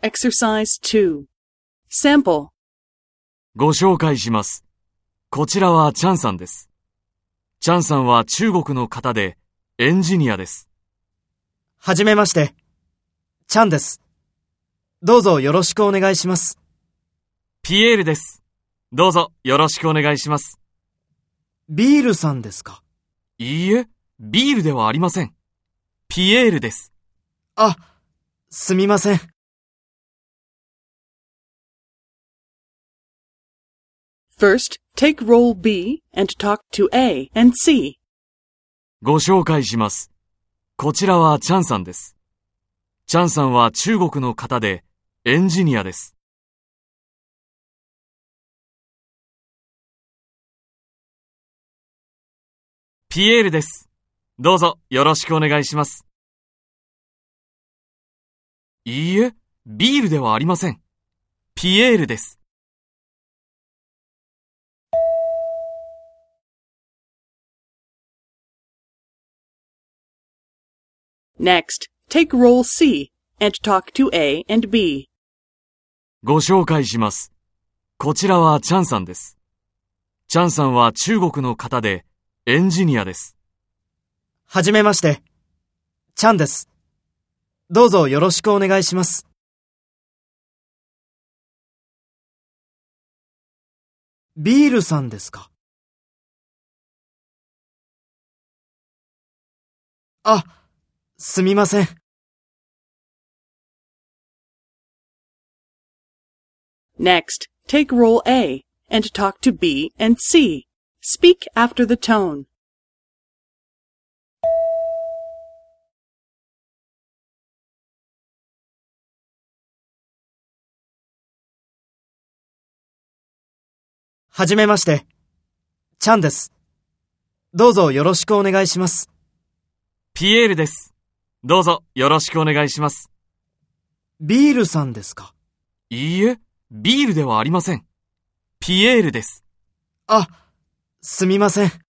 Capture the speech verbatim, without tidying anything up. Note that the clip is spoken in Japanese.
Exercise two. Sample. ご紹介します。こちらはチャンさんです。チャンさんは中国の方でエンジニアです。 はじめまして。チャンです。どうぞよろしくお願いします。 ピエールです。どうぞよろしくお願いします。 ビールさんですか？ いいえ、ビールではありません。ピエールです。 あ、すみません。 First, take role B and talk to A and C. ご紹介します。こちらはチャンさんです。チャンさんは中国の方でエンジニアです。ピエールです。どうぞよろしくお願いします。いいえ、ビールではありません。ピエールです。 Next, take role C and talk to A and B. ご紹介します。こちらはチャンさんです。チャンさんは中国の方でエンジニアです。 はじめまして。チャンです。どうぞよろしくお願いします。ビールさんですか？あ、すみません。 Next, take role A and talk to B and C. Speak after the tone. はじめまして。チャンです。どうぞよろしくお願いします。 ピエールです。どうぞよろしくお願いします。 ビールさんですか？ いいえ、ビールではありません。ピエールです。 あ、すみません。